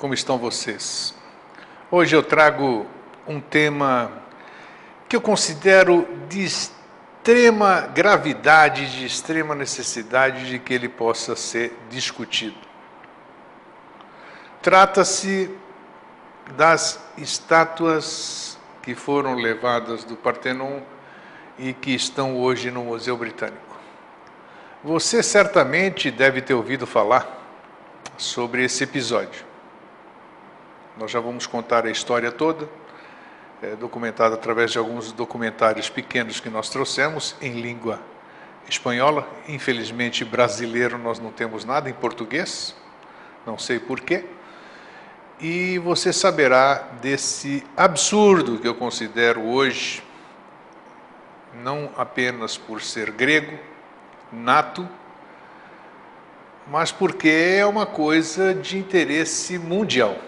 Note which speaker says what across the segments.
Speaker 1: como estão vocês? Hoje eu trago um tema que eu considero de extrema gravidade, de extrema necessidade de que ele possa ser discutido. Trata-se das estátuas que foram levadas do Partenon e que estão hoje no Museu Britânico. Você certamente deve ter ouvido falar sobre esse episódio. Nós já vamos contar a história toda, documentada através de alguns documentários pequenos que nós trouxemos em língua espanhola. Infelizmente, brasileiro nós não temos nada em português, não sei porquê. E você saberá desse absurdo que eu considero hoje, não apenas por ser grego, nato, mas porque é uma coisa de interesse mundial.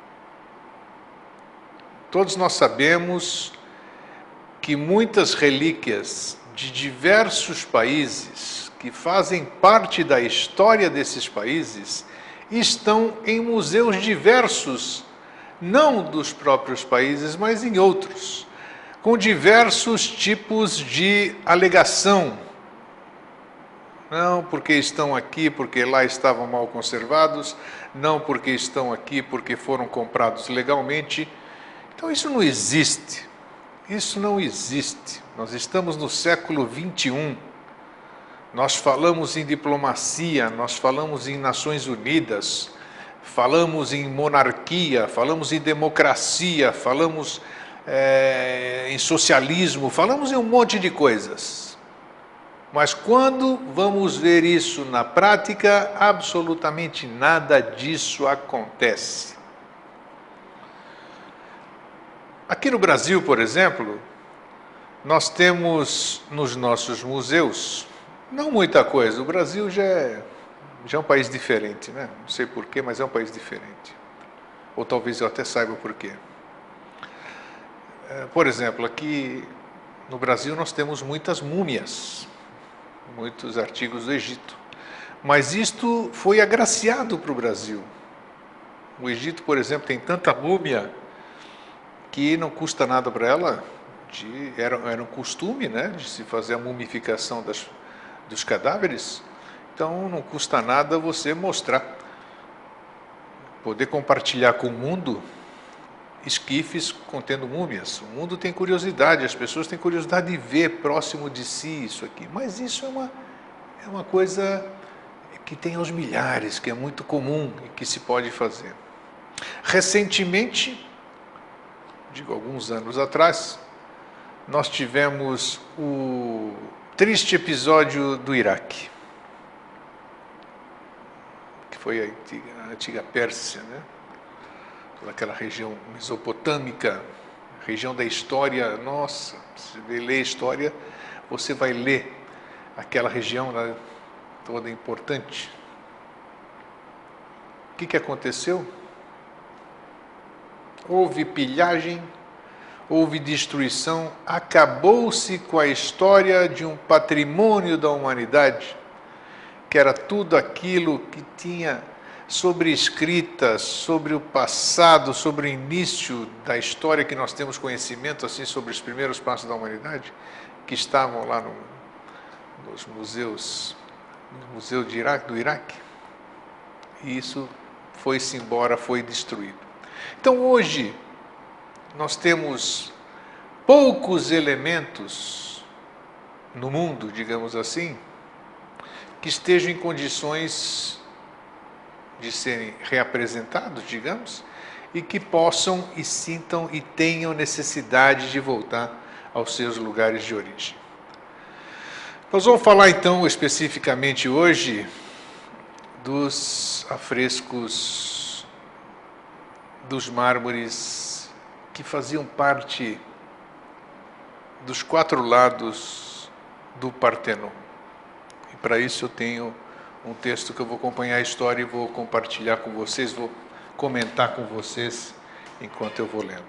Speaker 1: Todos nós sabemos que muitas relíquias de diversos países, que fazem parte da história desses países, estão em museus diversos, não dos próprios países, mas em outros, com diversos tipos de alegação. Não porque estão aqui, porque lá estavam mal conservados, não porque estão aqui, porque foram comprados legalmente. Então isso não existe, isso não existe. Nós estamos no século XXI, nós falamos em diplomacia, nós falamos em Nações Unidas, falamos em monarquia, falamos em democracia, falamos em socialismo, falamos em um monte de coisas. Mas quando vamos ver isso na prática, absolutamente nada disso acontece. Aqui no Brasil, por exemplo, nós temos nos nossos museus, não muita coisa. O Brasil já é um país diferente, né? Não sei porquê, mas é um país diferente. Ou talvez eu até saiba porquê. Por exemplo, aqui no Brasil nós temos muitas múmias, muitos artigos do Egito. Mas isto foi agraciado para o Brasil. O Egito, por exemplo, tem tanta múmia que não custa nada para ela. Era um costume, né, de se fazer a mumificação dos cadáveres. Então não custa nada você mostrar, poder compartilhar com o mundo esquifes contendo múmias. O mundo tem curiosidade, as pessoas têm curiosidade de ver próximo de si isso aqui. Mas isso é uma coisa que tem aos milhares, que é muito comum e que se pode fazer. Recentemente, digo alguns anos atrás, nós tivemos o triste episódio do Iraque, que foi a antiga Pérsia, né? Toda aquela região mesopotâmica, região da história. Nossa, se você ler história, você vai ler aquela região, né, toda importante. O que aconteceu? Houve pilhagem, houve destruição, acabou-se com a história de um patrimônio da humanidade, que era tudo aquilo que tinha sobre escritas, sobre o passado, sobre o início da história que nós temos conhecimento, assim, sobre os primeiros passos da humanidade, que estavam lá nos museus, no Museu do Iraque, e isso foi-se embora, foi destruído. Então hoje nós temos poucos elementos no mundo, digamos assim, que estejam em condições de serem reapresentados, digamos, e que possam e sintam e tenham necessidade de voltar aos seus lugares de origem. Nós vamos falar então especificamente hoje dos afrescos, dos mármores que faziam parte dos 4 lados do Partenon. E para isso eu tenho um texto que eu vou acompanhar a história e vou compartilhar com vocês, vou comentar com vocês enquanto eu vou lendo.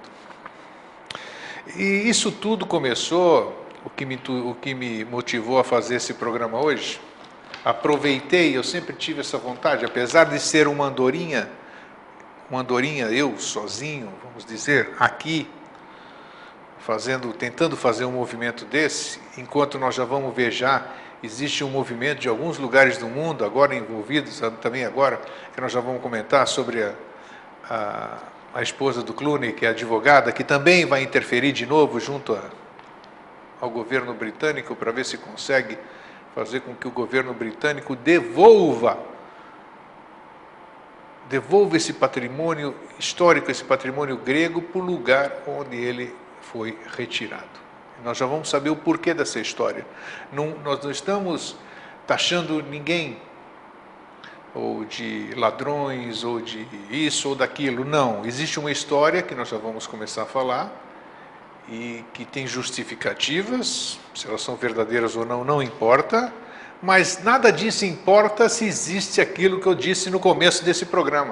Speaker 1: E isso tudo começou, o que me motivou a fazer esse programa hoje. Aproveitei, eu sempre tive essa vontade, apesar de ser uma andorinha, uma andorinha, eu sozinho, vamos dizer, aqui, tentando fazer um movimento desse, enquanto nós já vamos ver já, existe um movimento de alguns lugares do mundo, agora envolvidos, também agora, que nós já vamos comentar sobre a esposa do Clooney, que é advogada, que também vai interferir de novo junto ao governo britânico, para ver se consegue fazer com que o governo britânico devolva esse patrimônio histórico, esse patrimônio grego, para o lugar onde ele foi retirado. Nós já vamos saber o porquê dessa história. Nós não estamos taxando ninguém, ou de ladrões, ou de isso ou daquilo. Não, existe uma história que nós já vamos começar a falar, e que tem justificativas, se elas são verdadeiras ou não, não importa, mas nada disso importa se existe aquilo que eu disse no começo desse programa.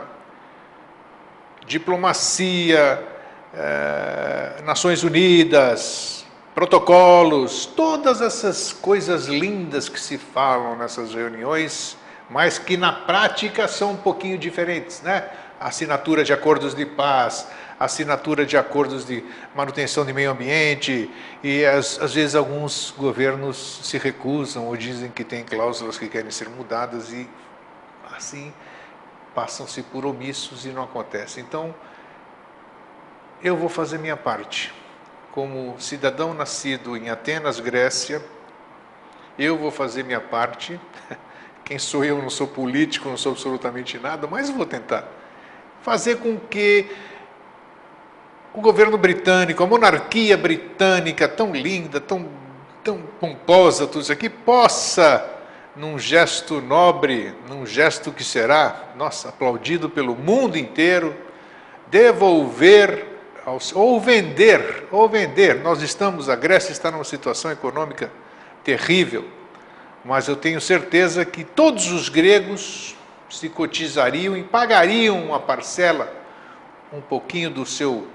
Speaker 1: Diplomacia, Nações Unidas, protocolos, todas essas coisas lindas que se falam nessas reuniões, mas que na prática são um pouquinho diferentes, né? Assinatura de acordos de paz, assinatura de acordos de manutenção de meio ambiente, e às vezes alguns governos se recusam ou dizem que tem cláusulas que querem ser mudadas e assim passam-se por omissos e não acontece. Então, eu vou fazer minha parte. Como cidadão nascido em Atenas, Grécia, eu vou fazer minha parte. Quem sou eu? Não sou político, não sou absolutamente nada, mas vou tentar fazer com que o governo britânico, a monarquia britânica, tão linda, tão pomposa, tudo isso aqui, possa, num gesto nobre, num gesto que será, nossa, aplaudido pelo mundo inteiro, devolver, ou vender, a Grécia está numa situação econômica terrível, mas eu tenho certeza que todos os gregos se cotizariam e pagariam uma parcela, um pouquinho do seu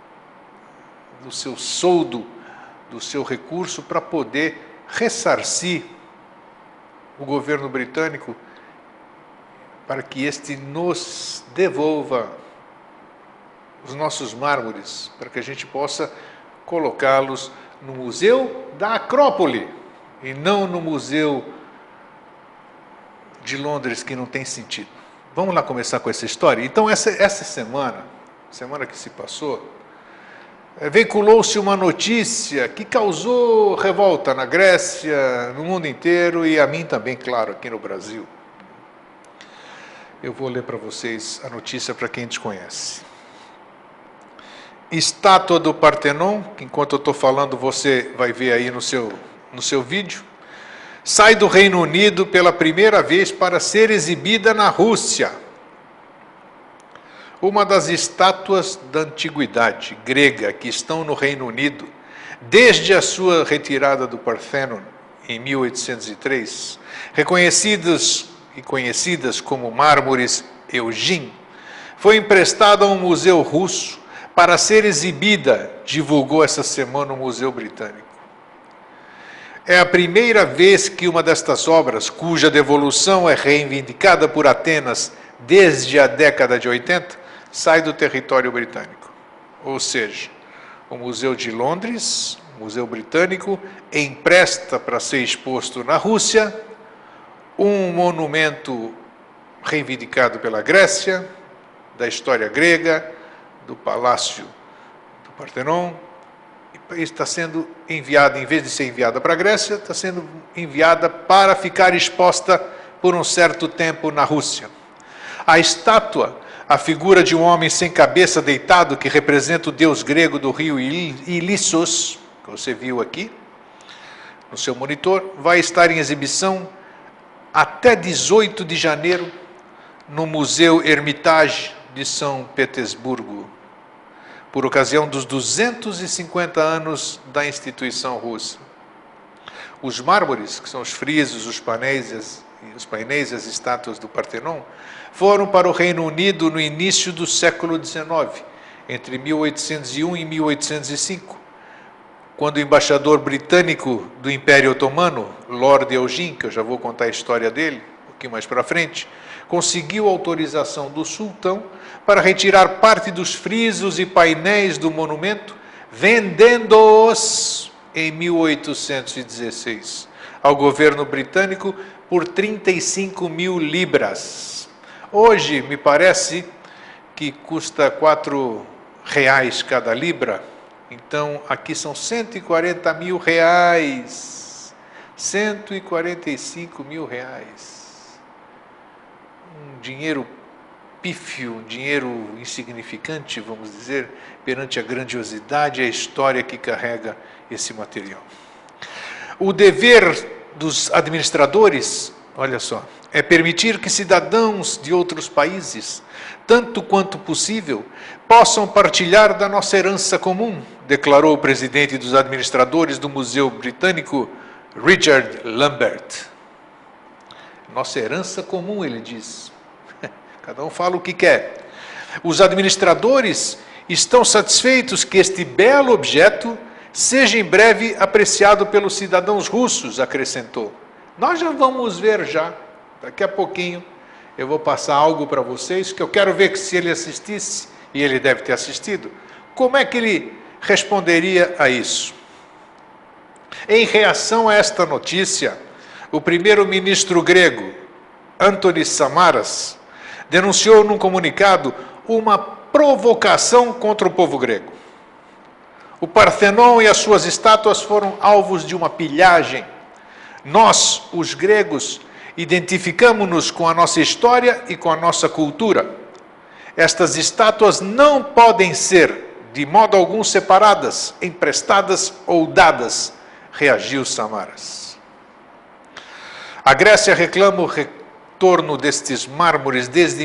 Speaker 1: soldo, do seu recurso, para poder ressarcir o governo britânico, para que este nos devolva os nossos mármores, para que a gente possa colocá-los no Museu da Acrópole, e não no Museu de Londres, que não tem sentido. Vamos lá começar com essa história? Então, essa semana que se passou, veiculou-se uma notícia que causou revolta na Grécia, no mundo inteiro, e a mim também, claro, aqui no Brasil. Eu vou ler para vocês a notícia para quem desconhece. Estátua do Partenon, que enquanto eu estou falando você vai ver aí no seu vídeo, sai do Reino Unido pela primeira vez para ser exibida na Rússia. Uma das estátuas da antiguidade grega que estão no Reino Unido, desde a sua retirada do Parthenon em 1803, reconhecidas e conhecidas como mármores Eugene, foi emprestada a um museu russo para ser exibida, divulgou essa semana o Museu Britânico. É a primeira vez que uma destas obras, cuja devolução é reivindicada por Atenas desde a década de 80, sai do território britânico. Ou seja, o Museu de Londres, o Museu Britânico, empresta para ser exposto na Rússia um monumento reivindicado pela Grécia, da história grega, do Palácio do Parthenon, e está sendo enviada, em vez de ser enviada para a Grécia, está sendo enviada para ficar exposta por um certo tempo na Rússia. A estátua, a figura de um homem sem cabeça deitado, que representa o deus grego do rio Ilissos, que você viu aqui no seu monitor, vai estar em exibição até 18 de janeiro no Museu Hermitage de São Petersburgo, por ocasião dos 250 anos da instituição russa. Os mármores, que são os frisos, os painéis e as estátuas do Parthenon, foram para o Reino Unido no início do século XIX, entre 1801 e 1805, quando o embaixador britânico do Império Otomano, Lord Eugene, que eu já vou contar a história dele um pouquinho mais para frente, conseguiu autorização do sultão para retirar parte dos frisos e painéis do monumento, vendendo-os em 1816 ao governo britânico por 35 mil libras. Hoje, me parece que custa R$ 4 cada libra. Então, aqui são 140 mil reais. 145 mil reais. Um dinheiro pífio, um dinheiro insignificante, vamos dizer, perante a grandiosidade e a história que carrega esse material. O dever dos administradores, olha só, é permitir que cidadãos de outros países, tanto quanto possível, possam partilhar da nossa herança comum, declarou o presidente dos administradores do Museu Britânico, Richard Lambert. Nossa herança comum, ele diz. Cada um fala o que quer. Os administradores estão satisfeitos que este belo objeto seja em breve apreciado pelos cidadãos russos, acrescentou. Nós já vamos ver já, daqui a pouquinho, eu vou passar algo para vocês, que eu quero ver que se ele assistisse, e ele deve ter assistido, como é que ele responderia a isso? Em reação a esta notícia, o primeiro-ministro grego, Antonis Samaras, denunciou num comunicado uma provocação contra o povo grego. O Parthenon e as suas estátuas foram alvos de uma pilhagem. Nós, os gregos, identificamos-nos com a nossa história e com a nossa cultura. Estas estátuas não podem ser, de modo algum, separadas, emprestadas ou dadas, reagiu Samaras. A Grécia reclama o retorno destes mármores desde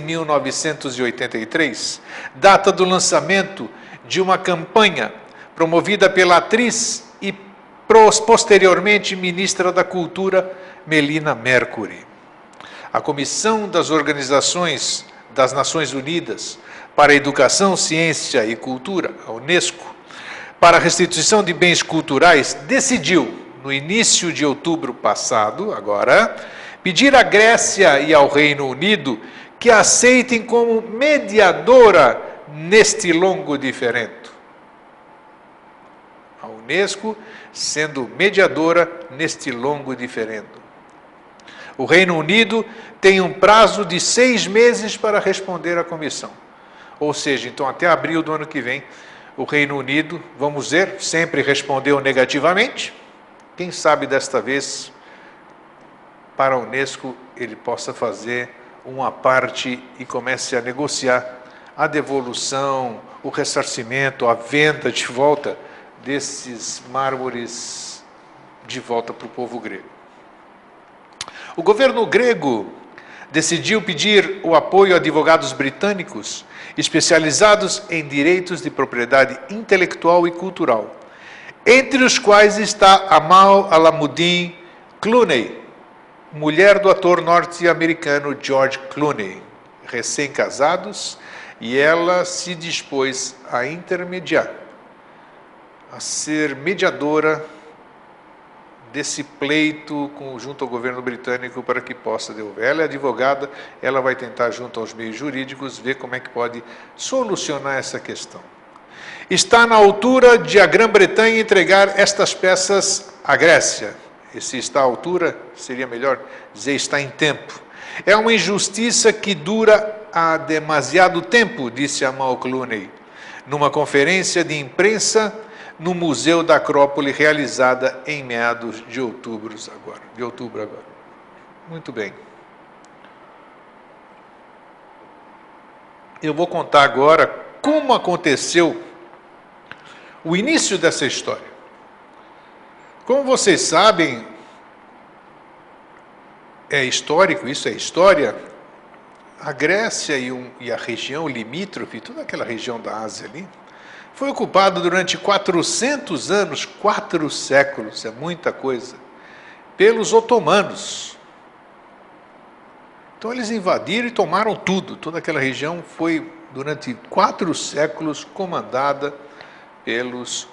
Speaker 1: 1983, data do lançamento de uma campanha promovida pela atriz e posteriormente ministra da Cultura, Melina Mercury. A Comissão das Organizações das Nações Unidas para a Educação, Ciência e Cultura, a Unesco, para a restituição de bens culturais, decidiu, no início de outubro passado, agora, pedir à Grécia e ao Reino Unido que a aceitem como mediadora neste longo diferendo. A Unesco sendo mediadora neste longo diferendo. O Reino Unido tem um prazo de 6 meses para responder à comissão. Ou seja, então até abril do ano que vem, o Reino Unido, vamos ver, sempre respondeu negativamente. Quem sabe desta vez, para a Unesco, ele possa fazer uma parte e comece a negociar a devolução, o ressarcimento, a venda de volta desses mármores de volta para o povo grego. O governo grego decidiu pedir o apoio a advogados britânicos especializados em direitos de propriedade intelectual e cultural, entre os quais está Amal Alamuddin Clooney, mulher do ator norte-americano George Clooney, recém-casados, e ela se dispôs a intermediar, a ser mediadora desse pleito junto ao governo britânico para que possa devolver. Ela é advogada, ela vai tentar, junto aos meios jurídicos, ver como é que pode solucionar essa questão. Está na altura de a Grã-Bretanha entregar estas peças à Grécia. E se está à altura, seria melhor dizer está em tempo. É uma injustiça que dura há demasiado tempo, disse Amal Clooney, numa conferência de imprensa no Museu da Acrópole, realizada em meados de outubro agora. Muito bem. Eu vou contar agora como aconteceu o início dessa história. Como vocês sabem, é histórico, isso é história, a Grécia e a região limítrofe, toda aquela região da Ásia ali, foi ocupada durante 400 anos, 4 séculos, é muita coisa, pelos otomanos. Então eles invadiram e tomaram tudo, toda aquela região foi durante 4 séculos comandada pelos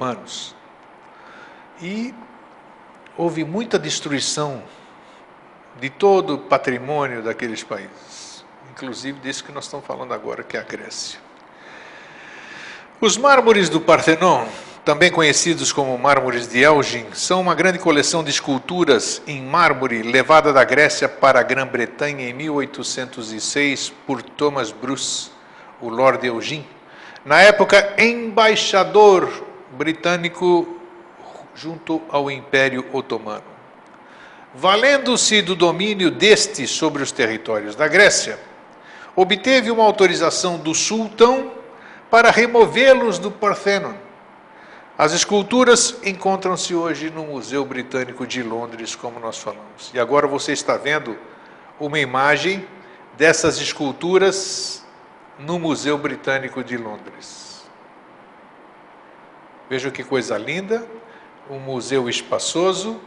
Speaker 1: otomanos. E houve muita destruição de todo o patrimônio daqueles países, inclusive desse que nós estamos falando agora, que é a Grécia. Os mármores do Partenon, também conhecidos como mármores de Elgin, são uma grande coleção de esculturas em mármore levada da Grécia para a Grã-Bretanha em 1806 por Thomas Bruce, o Lord Elgin, na época embaixador britânico junto ao Império Otomano. Valendo-se do domínio deste sobre os territórios da Grécia, obteve uma autorização do sultão para removê-los do Parthenon. As esculturas encontram-se hoje no Museu Britânico de Londres, como nós falamos. E agora você está vendo uma imagem dessas esculturas no Museu Britânico de Londres. Veja que coisa linda, um museu espaçoso,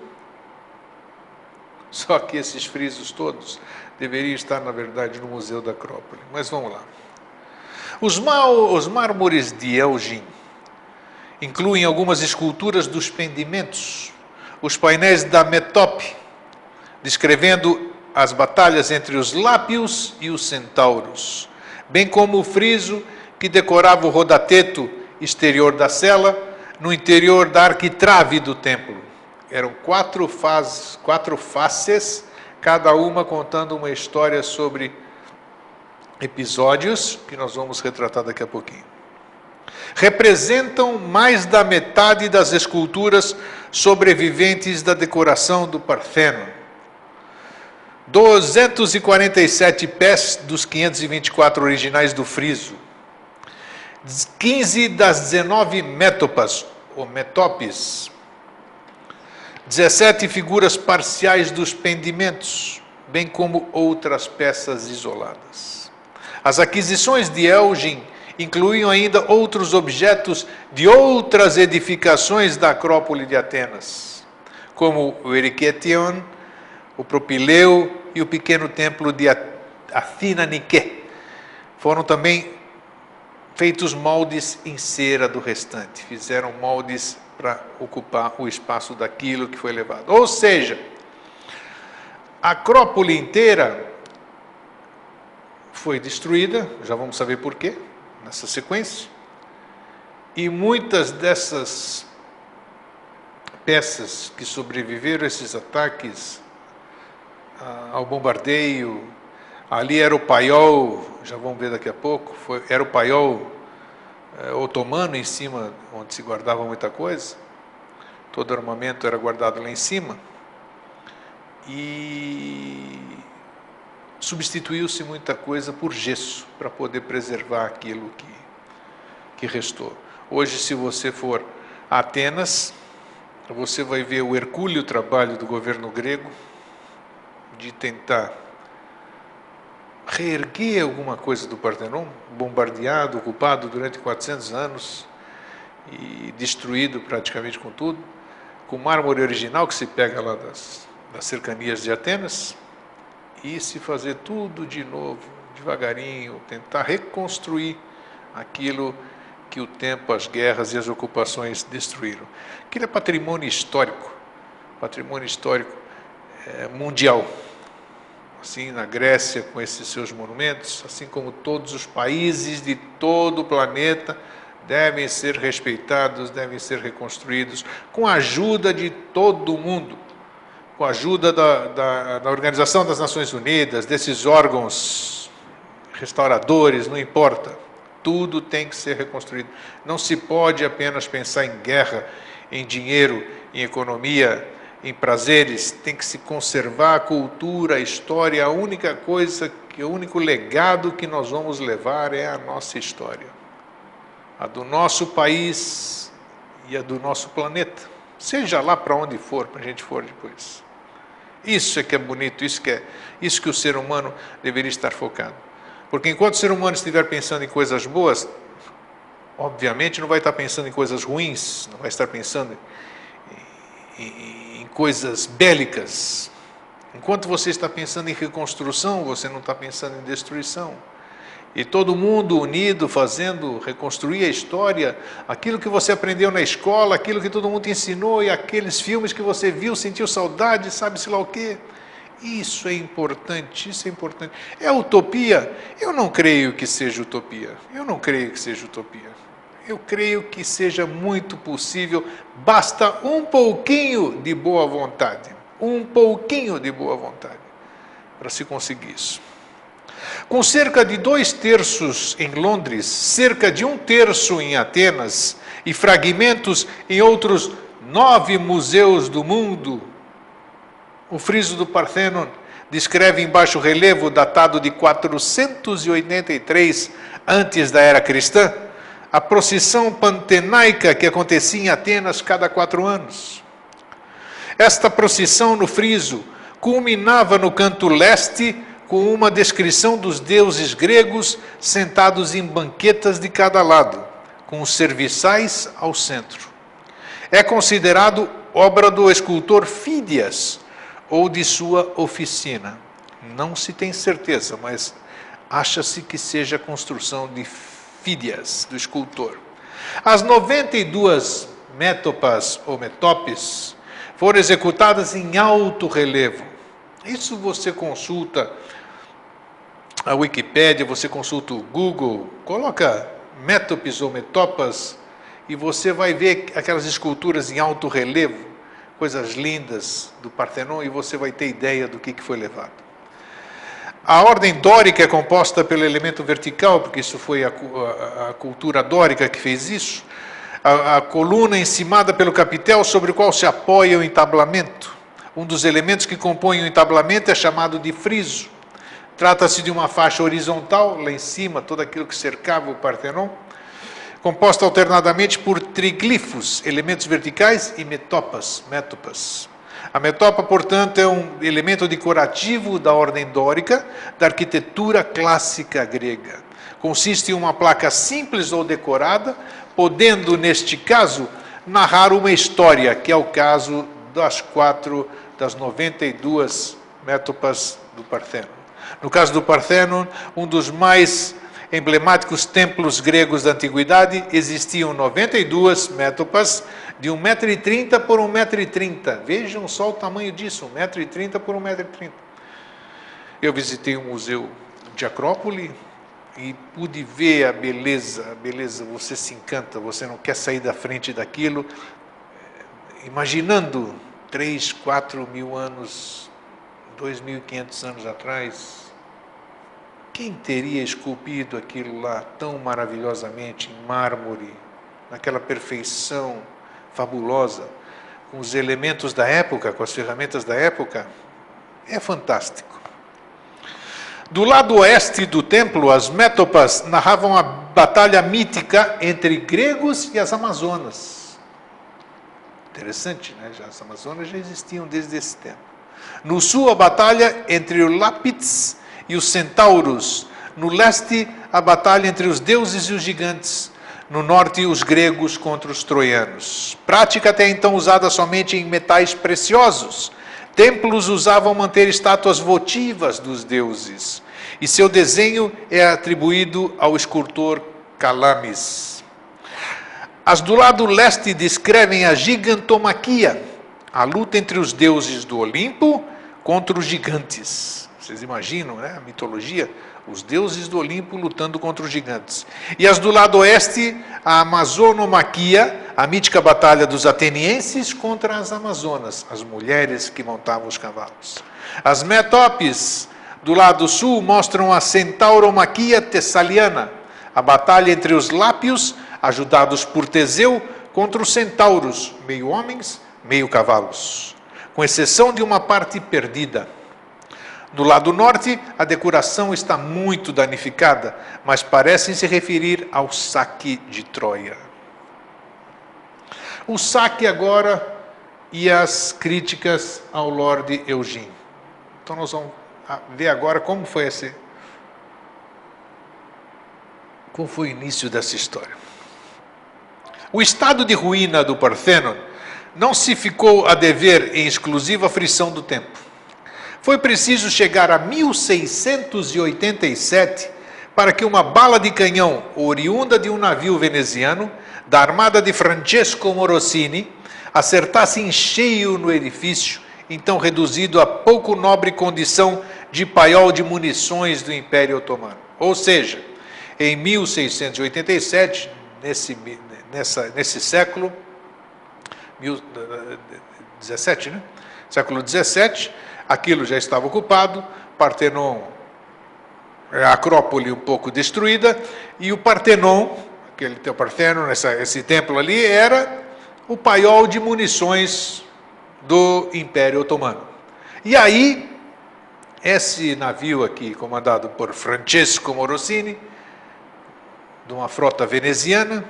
Speaker 1: só que esses frisos todos deveriam estar, na verdade, no Museu da Acrópole. Mas vamos lá. Os mármores de Elgin incluem algumas esculturas dos pendimentos, os painéis da Metope, descrevendo as batalhas entre os Lápios e os Centauros, bem como o friso que decorava o rodateto exterior da cela, no interior da arquitrave do templo. Eram quatro faces, cada uma contando uma história sobre episódios que nós vamos retratar daqui a pouquinho. Representam mais da metade das esculturas sobreviventes da decoração do Parthenon. 247 pés dos 524 originais do friso. 15 das 19 métopas, ou metopes. 17 figuras parciais dos pendimentos, bem como outras peças isoladas. As aquisições de Elgin incluíam ainda outros objetos de outras edificações da Acrópole de Atenas, como o Erecheion, o Propileu e o pequeno templo de Athina Nike. Foram também feitos moldes em cera do restante, fizeram moldes para ocupar o espaço daquilo que foi levado. Ou seja, a Acrópole inteira foi destruída, já vamos saber por quê, nessa sequência, e muitas dessas peças que sobreviveram a esses ataques, ao bombardeio, ali era o paiol, já vamos ver daqui a pouco, era o paiol otomano em cima, onde se guardava muita coisa, todo armamento era guardado lá em cima, e substituiu-se muita coisa por gesso, para poder preservar aquilo que restou. Hoje, se você for a Atenas, você vai ver o hercúleo trabalho do governo grego de tentar reerguer alguma coisa do Partenon, bombardeado, ocupado durante 400 anos e destruído praticamente com tudo, com mármore original que se pega lá das cercanias de Atenas, e se fazer tudo de novo, devagarinho, tentar reconstruir aquilo que o tempo, as guerras e as ocupações destruíram. Aquilo é patrimônio histórico mundial. Assim, na Grécia, com esses seus monumentos, assim como todos os países de todo o planeta, devem ser respeitados, devem ser reconstruídos, com a ajuda de todo mundo, com a ajuda da Organização das Nações Unidas, desses órgãos restauradores, não importa, tudo tem que ser reconstruído. Não se pode apenas pensar em guerra, em dinheiro, em economia, em prazeres, tem que se conservar a cultura, a história. A única coisa, o único legado que nós vamos levar é a nossa história, a do nosso país e a do nosso planeta, seja lá para onde for, para a gente for depois. Isso é que é bonito, isso que o ser humano deveria estar focado. Porque enquanto o ser humano estiver pensando em coisas boas, obviamente não vai estar pensando em coisas ruins, não vai estar pensando em coisas bélicas. Enquanto você está pensando em reconstrução, você não está pensando em destruição. E todo mundo unido, fazendo, reconstruir a história, aquilo que você aprendeu na escola, aquilo que todo mundo te ensinou, e aqueles filmes que você viu, sentiu saudade, sabe-se lá o quê. Isso é importante, isso é importante. É utopia? Eu não creio que seja utopia. Eu não creio que seja utopia. Eu creio que seja muito possível, basta um pouquinho de boa vontade. Um pouquinho de boa vontade para se conseguir isso. Com cerca de 2/3 em Londres, cerca de 1/3 em Atenas e fragmentos em outros 9 museus do mundo, o friso do Parthenon descreve em baixo relevo, datado de 483 antes da era cristã, a procissão pantenaica que acontecia em Atenas cada 4 anos. Esta procissão no friso culminava no canto leste com uma descrição dos deuses gregos sentados em banquetas de cada lado, com os serviçais ao centro. É considerado obra do escultor Fídias, ou de sua oficina. Não se tem certeza, mas acha-se que seja a construção de Fídias, do escultor. As 92 métopas ou metopes foram executadas em alto relevo. Isso você consulta a Wikipédia, você consulta o Google, coloca métopes ou metopas e você vai ver aquelas esculturas em alto relevo, coisas lindas do Parthenon, e você vai ter ideia do que foi levado. A ordem dórica é composta pelo elemento vertical, porque isso foi a cultura dórica que fez isso. A coluna encimada pelo capitel, sobre o qual se apoia o entablamento. Um dos elementos que compõem o entablamento é chamado de friso. Trata-se de uma faixa horizontal, lá em cima, todo aquilo que cercava o Parthenon, composta alternadamente por triglifos, elementos verticais, e metopas, métopas. A metopa, portanto, é um elemento decorativo da ordem dórica, da arquitetura clássica grega. Consiste em uma placa simples ou decorada, podendo, neste caso, narrar uma história, que é o caso das 92 métopas do Parthenon. No caso do Parthenon, um dos mais emblemáticos templos gregos da antiguidade, existiam 92 métopas de 1,30 m por 1,30 m. Vejam só o tamanho disso, 1,30 m por 1,30 m. Eu visitei um museu de Acrópole e pude ver a beleza, você se encanta, você não quer sair da frente daquilo, imaginando 3, 4 mil anos, 2.500 anos atrás. Quem teria esculpido aquilo lá tão maravilhosamente em mármore, naquela perfeição fabulosa, com os elementos da época, com as ferramentas da época? É fantástico. Do lado oeste do templo, as métopas narravam a batalha mítica entre gregos e as amazonas. Interessante, né? As amazonas já existiam desde esse tempo. No sul, a batalha entre os lápides e os centauros. No leste, a batalha entre os deuses e os gigantes. No norte, os gregos contra os troianos. Prática até então usada somente em metais preciosos. Templos usavam manter estátuas votivas dos deuses. E seu desenho é atribuído ao escultor Calamis. As do lado leste descrevem a gigantomaquia, a luta entre os deuses do Olimpo contra os gigantes. Vocês imaginam, né? A mitologia, os deuses do Olimpo lutando contra os gigantes. E as do lado oeste, a amazonomaquia, a mítica batalha dos atenienses contra as amazonas, as mulheres que montavam os cavalos. As métopes do lado sul mostram a centauromaquia tessaliana, a batalha entre os lápios, ajudados por Teseu, contra os centauros, meio homens, meio cavalos, com exceção de uma parte perdida. Do lado norte, a decoração está muito danificada, mas parece se referir ao saque de Troia. O saque agora e as críticas ao Lord Eugene. Então nós vamos ver agora como foi o início dessa história. O estado de ruína do Parthenon não se ficou a dever em exclusiva frição do tempo. Foi preciso chegar a 1687 para que uma bala de canhão oriunda de um navio veneziano da armada de Francesco Morosini acertasse em cheio no edifício então reduzido a pouco nobre condição de paiol de munições do Império Otomano. Ou seja, em 1687, nesse século, 17, né? Século 17, aquilo já estava ocupado, Partenon, a Acrópole um pouco destruída, e o Partenon, o Parthenon, esse templo ali, era o paiol de munições do Império Otomano. E aí, esse navio aqui, comandado por Francesco Morosini, de uma frota veneziana,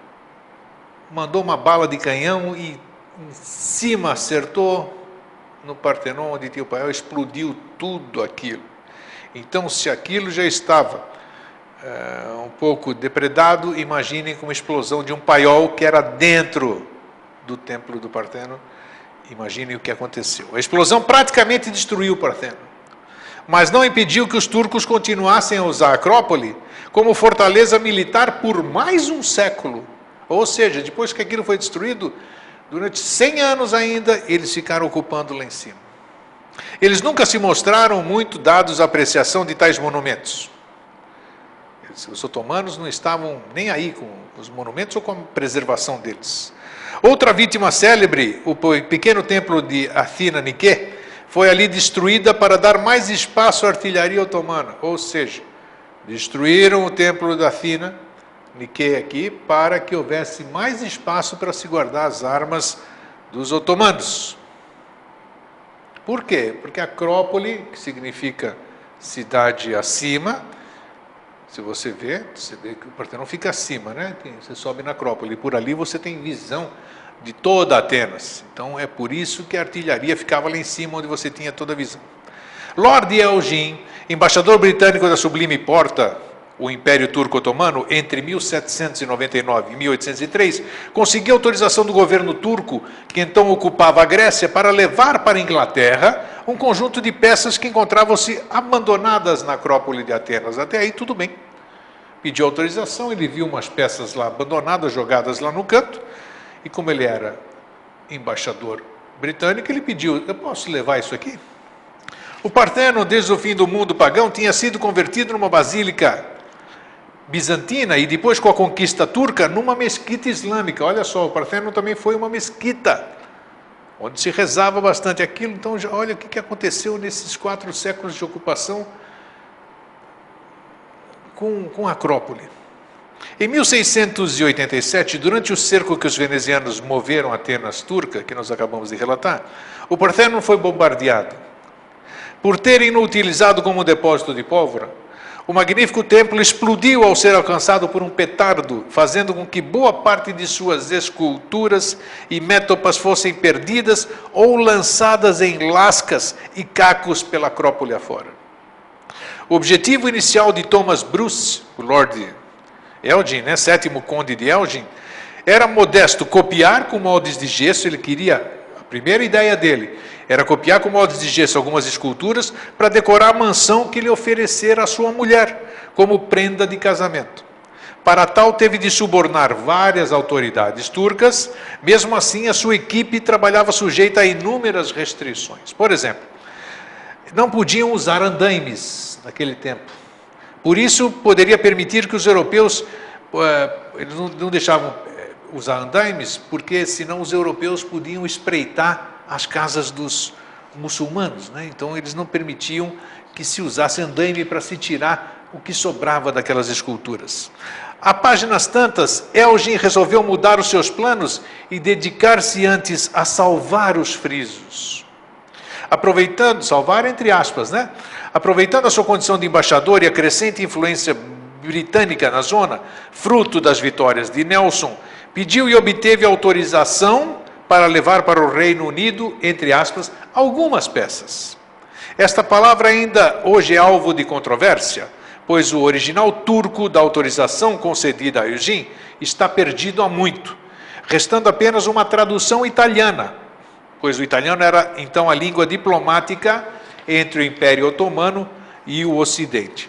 Speaker 1: mandou uma bala de canhão e em cima acertou no Partenon, onde tinha o paiol, explodiu tudo aquilo. Então, se aquilo já estava um pouco depredado, imaginem com uma explosão de um paiol que era dentro do templo do Partenon. Imaginem o que aconteceu. A explosão praticamente destruiu o Partenon, mas não impediu que os turcos continuassem a usar a Acrópole como fortaleza militar por mais um século. Ou seja, depois que aquilo foi destruído, durante 100 anos ainda, eles ficaram ocupando lá em cima. Eles nunca se mostraram muito dados à apreciação de tais monumentos. Os otomanos não estavam nem aí com os monumentos ou com a preservação deles. Outra vítima célebre, o pequeno templo de Athina Nike, foi ali destruída para dar mais espaço à artilharia otomana. Ou seja, destruíram o templo de Athina Nike aqui para que houvesse mais espaço para se guardar as armas dos otomanos. Por quê? Porque Acrópole, que significa cidade acima, se você vê que o Partenon fica acima, né? Você sobe na Acrópole, e por ali você tem visão de toda Atenas. Então é por isso que a artilharia ficava lá em cima, onde você tinha toda a visão. Lord Elgin, embaixador britânico da Sublime Porta, o Império Turco-Otomano, entre 1799 e 1803, conseguiu autorização do governo turco, que então ocupava a Grécia, para levar para a Inglaterra um conjunto de peças que encontravam-se abandonadas na Acrópole de Atenas. Até aí tudo bem. Pediu autorização, ele viu umas peças lá abandonadas, jogadas lá no canto, e como ele era embaixador britânico, ele pediu: eu posso levar isso aqui? O Partenon, desde o fim do mundo pagão, tinha sido convertido numa basílica bizantina e depois, com a conquista turca, numa mesquita islâmica. Olha só, o Partenon também foi uma mesquita, onde se rezava bastante aquilo. Então, olha o que aconteceu nesses 4 séculos de ocupação com a Acrópole. Em 1687, durante o cerco que os venezianos moveram a Atenas turca, que nós acabamos de relatar, o Partenon foi bombardeado. Por terem-no utilizado como depósito de pólvora, o magnífico templo explodiu ao ser alcançado por um petardo, fazendo com que boa parte de suas esculturas e métopas fossem perdidas ou lançadas em lascas e cacos pela Acrópole afora. O objetivo inicial de Thomas Bruce, o Lord Elgin, né, 7º conde de Elgin, era modesto: copiar com moldes de gesso. Ele queria, a primeira ideia dele era copiar com moldes de gesso algumas esculturas para decorar a mansão que lhe oferecera a sua mulher como prenda de casamento. Para tal, teve de subornar várias autoridades turcas. Mesmo assim, a sua equipe trabalhava sujeita a inúmeras restrições. Por exemplo, não podiam usar andaimes naquele tempo. Por isso, poderia permitir que os europeus, eles não deixavam usar andaimes, porque senão os europeus podiam espreitar as casas dos muçulmanos, né? Então eles não permitiam que se usasse andaime para se tirar o que sobrava daquelas esculturas. A páginas tantas, Elgin resolveu mudar os seus planos e dedicar-se antes a salvar os frisos. Aproveitando, salvar entre aspas, né? Aproveitando a sua condição de embaixador e a crescente influência britânica na zona, fruto das vitórias de Nelson, pediu e obteve autorização para levar para o Reino Unido, entre aspas, algumas peças. Esta palavra ainda hoje é alvo de controvérsia, pois o original turco da autorização concedida a Elgin está perdido há muito, restando apenas uma tradução italiana, pois o italiano era então a língua diplomática entre o Império Otomano e o Ocidente.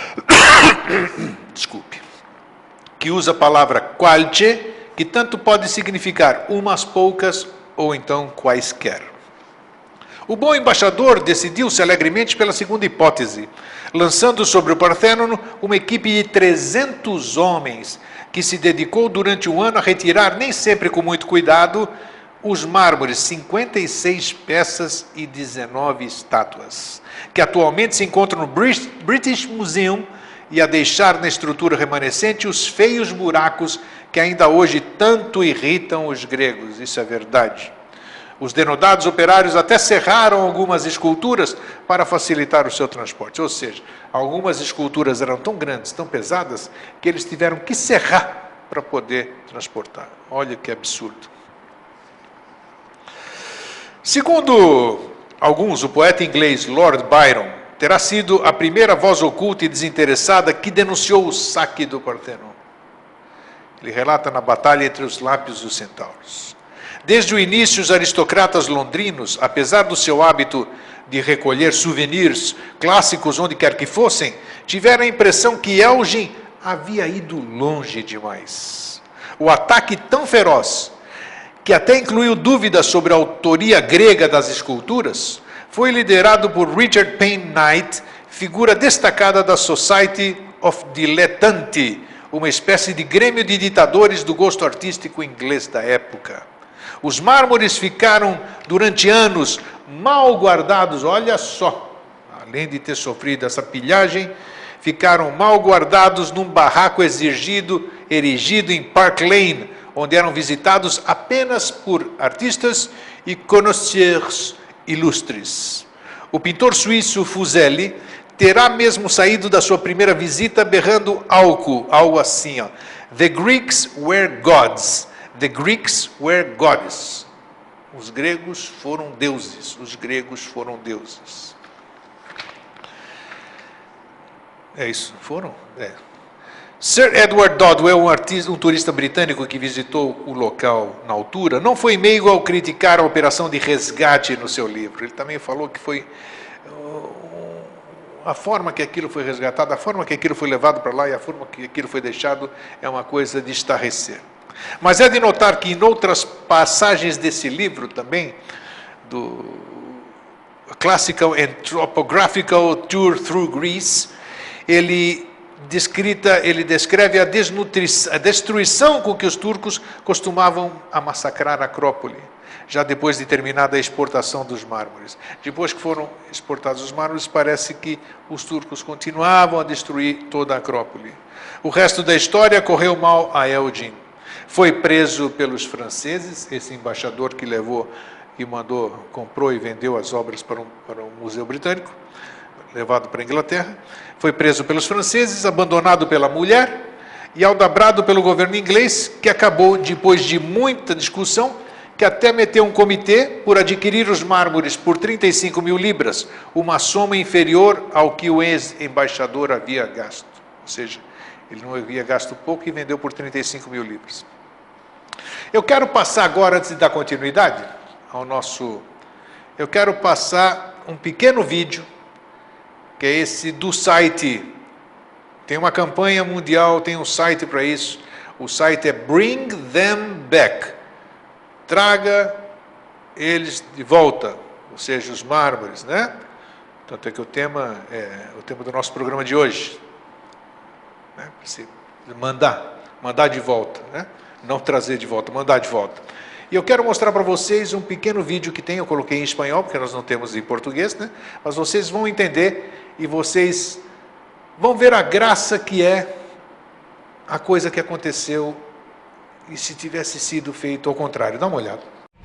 Speaker 1: Desculpe. Que usa a palavra qualche, que tanto pode significar umas poucas ou então quaisquer. O bom embaixador decidiu-se alegremente pela segunda hipótese, lançando sobre o Parthênon uma equipe de 300 homens, que se dedicou durante um ano a retirar, nem sempre com muito cuidado, os mármores, 56 peças e 19 estátuas, que atualmente se encontram no British Museum, e a deixar na estrutura remanescente os feios buracos que ainda hoje tanto irritam os gregos. Isso é verdade. Os denodados operários até serraram algumas esculturas para facilitar o seu transporte. Ou seja, algumas esculturas eram tão grandes, tão pesadas, que eles tiveram que serrar para poder transportar. Olha que absurdo. Segundo alguns, o poeta inglês Lord Byron terá sido a primeira voz oculta e desinteressada que denunciou o saque do Parthênon. Ele relata na batalha entre os Lápios e os Centauros. Desde o início, os aristocratas londrinos, apesar do seu hábito de recolher souvenirs clássicos onde quer que fossem, tiveram a impressão que Elgin havia ido longe demais. O ataque tão feroz, que até incluiu dúvidas sobre a autoria grega das esculturas, foi liderado por Richard Payne Knight, figura destacada da Society of Dilettanti, uma espécie de grêmio de ditadores do gosto artístico inglês da época. Os mármores ficaram, durante anos, mal guardados, olha só, além de ter sofrido essa pilhagem, ficaram mal guardados num barraco erigido em Park Lane, onde eram visitados apenas por artistas e connoisseurs ilustres. O pintor suíço Fuseli terá mesmo saído da sua primeira visita berrando algo assim, ó. The Greeks were gods. The Greeks were gods. Os gregos foram deuses. Os gregos foram deuses. É isso? Foram? É. Sir Edward Dodwell, um turista britânico que visitou o local na altura, não foi meigo ao criticar a operação de resgate no seu livro. Ele também falou que foi a forma que aquilo foi resgatado, a forma que aquilo foi levado para lá e a forma que aquilo foi deixado é uma coisa de estarrecer. Mas é de notar que em outras passagens desse livro também, do Classical and Topographical Tour Through Greece, ele descreve a destruição com que os turcos costumavam a massacrar a Acrópole, já depois de terminada a exportação dos mármores. Depois que foram exportados os mármores, parece que os turcos continuavam a destruir toda a Acrópole. O resto da história correu mal a Elgin. Foi preso pelos franceses, esse embaixador que comprou e vendeu as obras para um museu britânico, levado para a Inglaterra. Foi preso pelos franceses, abandonado pela mulher e aldabrado pelo governo inglês, que acabou, depois de muita discussão, que até meteu um comitê por adquirir os mármores por 35 mil libras, uma soma inferior ao que o ex-embaixador havia gasto. Ou seja, ele não havia gasto pouco e vendeu por 35 mil libras. Eu quero passar agora, antes de dar continuidade eu quero passar um pequeno vídeo, que é esse do site. Tem uma campanha mundial, tem um site para isso. O site é Bring Them Back. Traga eles de volta, ou seja, os mármores, né? Tanto é que o tema do nosso programa de hoje, né? Mandar de volta, né? Não trazer de volta, mandar de volta. E eu quero mostrar para vocês um pequeno vídeo que tem, eu coloquei em espanhol, porque nós não temos em português, né? Mas vocês vão entender e vocês vão ver a graça que é a coisa que aconteceu e se tivesse sido feito ao contrário. Dá uma olhada.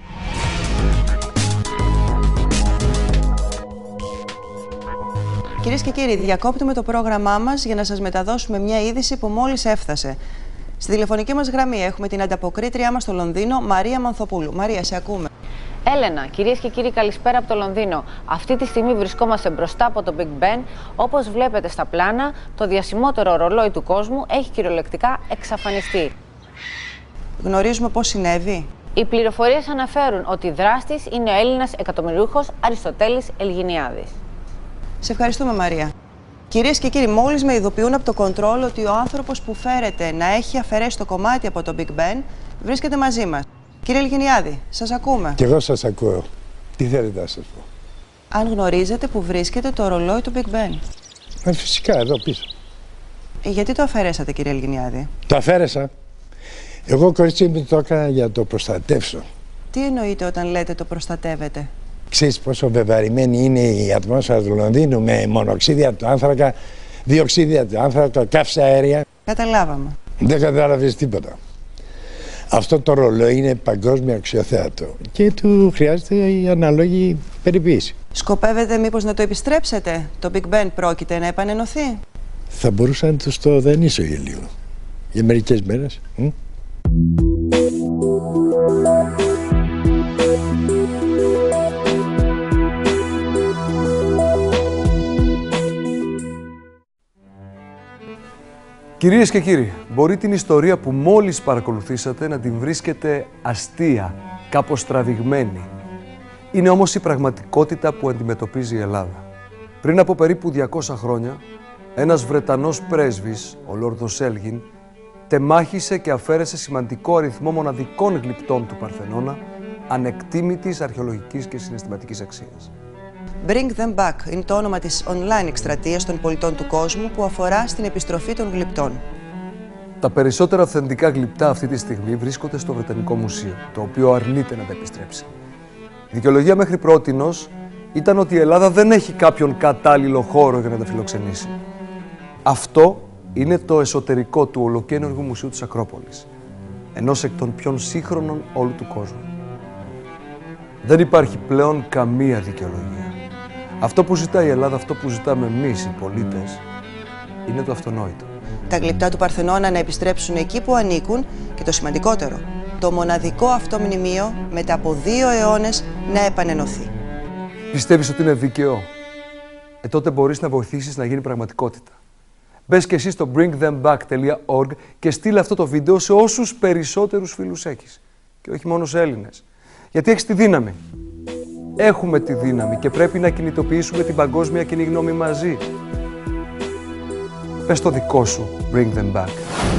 Speaker 2: Κυρίες και κύριοι, διακόπτουμε το πρόγραμμά μας για να σας μεταδώσουμε μια είδηση που μόλις έφτασε. Στη τηλεφωνική μας γραμμή έχουμε την ανταποκρίτριά μας στο Λονδίνο, Μαρία Μανθοπούλου. Μαρία, σε ακούμε.
Speaker 3: Έλενα, κυρίες και κύριοι, καλησπέρα από το Λονδίνο. Αυτή τη στιγμή βρισκόμαστε μπροστά από το Big Ben. Όπως βλέπετε στα πλάνα, το διασημότερο ρολόι του κόσμου έχει κυριολεκτικά εξαφανιστεί.
Speaker 2: Γνωρίζουμε πώς συνέβη.
Speaker 3: Οι πληροφορίες αναφέρουν ότι δράστης είναι ο Έλληνας εκατομμυριούχος Αριστοτέλης Ελγινιάδης.
Speaker 2: Σε ευχαριστούμε, Μαρία. Κυρίες και κύριοι, μόλις με ειδοποιούν από το κοντρόλ ότι ο άνθρωπος που φέρεται να έχει αφαιρέσει το κομμάτι από το Big Ben βρίσκεται μαζί μας. Κύριε Ελγινιάδη, σας ακούμε.
Speaker 4: Και εγώ σας ακούω. Τι θέλετε να σας πω.
Speaker 2: αν γνωρίζετε που βρίσκεται το ρολόι του Big Ben.
Speaker 4: Φυσικά, εδώ πίσω.
Speaker 2: Γιατί το αφαιρέσατε, κύριε Ελγινιάδη?
Speaker 4: Το αφαίρεσα. Εγώ, κορίτσι μου, το έκανα για να το προστατεύσω.
Speaker 2: Τι εννοείτε όταν λέτε το προστατεύετε?
Speaker 4: Ξέρεις πόσο βεβαρημένη είναι η ατμόσφαιρα του Λονδίνου με μονοξίδια του άνθρακα, διοξίδια του άνθρακα, καύσα αέρια.
Speaker 2: Καταλάβαμε.
Speaker 4: Δεν κατάλαβες τίποτα. Αυτό το ρολόι είναι παγκόσμιο αξιοθέατο και του χρειάζεται η αναλόγη περιποίηση.
Speaker 2: Σκοπεύετε μήπως να το επιστρέψετε? Το Big Ben πρόκειται να επανενωθεί?
Speaker 4: Θα μπορούσα να τους το δανείσω για λίγο. Για μερικές μέρες.
Speaker 5: Κυρίες και κύριοι, μπορεί την ιστορία που μόλις παρακολουθήσατε να την βρίσκετε αστεία, κάπως τραβηγμένη. Είναι όμως η πραγματικότητα που αντιμετωπίζει η Ελλάδα. Πριν από περίπου 200 χρόνια, ένας Βρετανός πρέσβης, ο Λόρδος Έλγιν, τεμάχισε και αφαίρεσε σημαντικό αριθμό μοναδικών γλυπτών του Παρθενώνα, ανεκτήμητης αρχαιολογικής και συναισθηματικής αξίας.
Speaker 2: Bring them back είναι το όνομα της online εκστρατείας των πολιτών του κόσμου που αφορά στην επιστροφή των γλυπτών.
Speaker 5: Τα περισσότερα αυθεντικά γλυπτά αυτή τη στιγμή βρίσκονται στο Βρετανικό Μουσείο, το οποίο αρνείται να τα επιστρέψει. Η δικαιολογία μέχρι πρότινος ήταν ότι η Ελλάδα δεν έχει κάποιον κατάλληλο χώρο για να τα φιλοξενήσει. Αυτό είναι το εσωτερικό του ολοκαίνουργου Μουσείου της Ακρόπολης, ενός εκ των πιο σύγχρονων όλου του κόσμου. Δεν υπάρχει πλέον καμία δικαιολογία. Αυτό που ζητάει η Ελλάδα, αυτό που ζητάμε εμείς οι πολίτες, είναι το αυτονόητο.
Speaker 2: Τα γλυπτά του Παρθενώνα να επιστρέψουν εκεί που ανήκουν και το σημαντικότερο, το μοναδικό αυτό μνημείο μετά από 2 αιώνες να επανενωθεί.
Speaker 5: Πιστεύεις ότι είναι δίκαιο? Τότε μπορείς να βοηθήσεις να γίνει πραγματικότητα. Μπες και εσύ στο bringthemback.org και στείλε αυτό το βίντεο σε όσους περισσότερους φίλους έχεις. Και όχι μόνο σε Έλληνες. Γιατί έχεις τη δύναμη. Έχουμε τη δύναμη και πρέπει να κινητοποιήσουμε την παγκόσμια κοινή γνώμη μαζί. Πες το δικό σου, bring them back.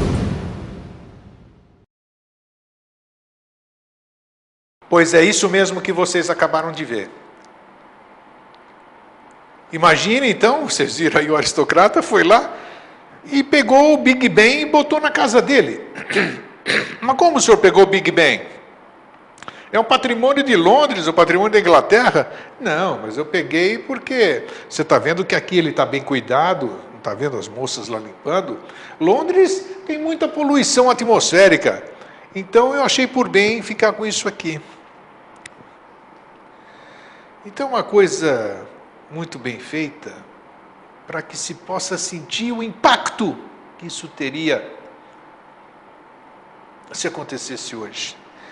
Speaker 1: Pois é isso mesmo que vocês acabaram de ver. Imagine então, vocês viram aí o aristocrata foi lá e pegou o Big Ben e botou na casa dele. Mas como o senhor pegou o Big Ben? É um patrimônio de Londres, o patrimônio da Inglaterra? Não, mas eu peguei porque você está vendo que aqui ele está bem cuidado, não está vendo as moças lá limpando? Londres tem muita poluição atmosférica, então eu achei por bem ficar com isso aqui. Então uma coisa muito bem feita para que se possa sentir o impacto que isso teria se acontecesse hoje.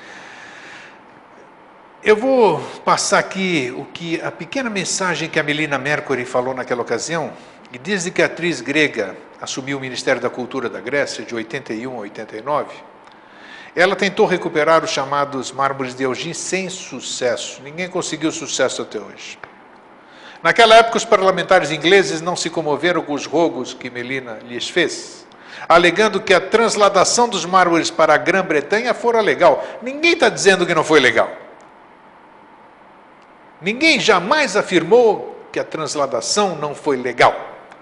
Speaker 1: Eu vou passar aqui a pequena mensagem que a Melina Mercury falou naquela ocasião, e desde que a atriz grega assumiu o Ministério da Cultura da Grécia, de 81 a 89, ela tentou recuperar os chamados mármores de Elgin sem sucesso. Ninguém conseguiu sucesso até hoje. Naquela época, os parlamentares ingleses não se comoveram com os rogos que Melina lhes fez, alegando que a transladação dos mármores para a Grã-Bretanha fora legal. Ninguém está dizendo que não foi legal. Ninguém jamais afirmou que a transladação não foi legal.